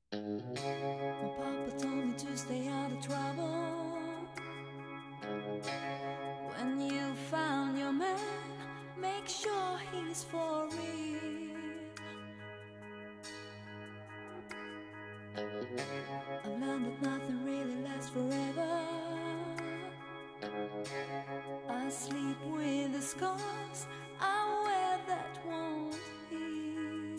My papa told me to stay out of trouble. When you found your man, make sure he's for real. I've learned that nothing really lasts forever. I sleep with the scars I wear that won't heal.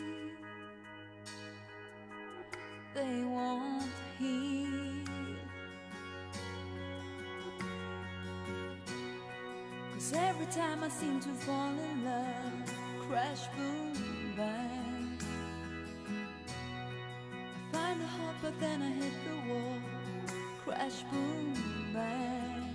They won't heal. 'Cause every time I seem to fall in love, crash, boom, bang, I find a heart but then I hit the wall, crash, boom, bang.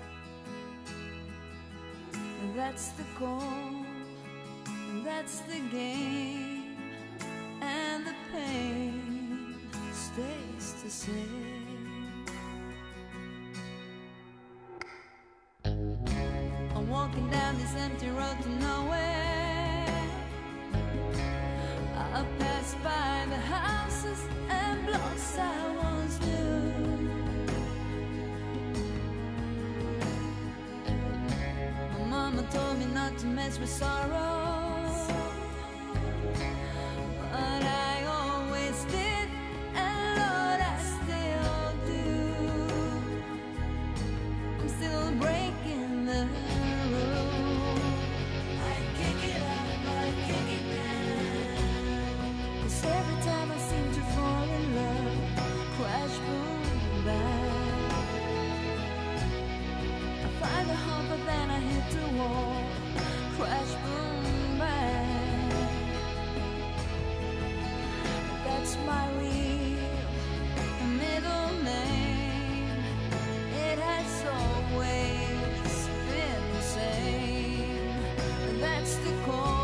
And that's the goal, and that's the game, and the pain stays the same. I'm walking down this empty road to nowhere. I pass by the houses and blocks I once knew. My mama told me not to mess with sorrow, but I always did, and Lord, I still do. I'm still breaking the rule. I kick it up, I kick it down. 'Cause every time I seem to fall in love, crash, boom, bang, I find a heart but then I hit the wall, crash, boom, bang. That's my real middle name. It has always been the same. That's the call.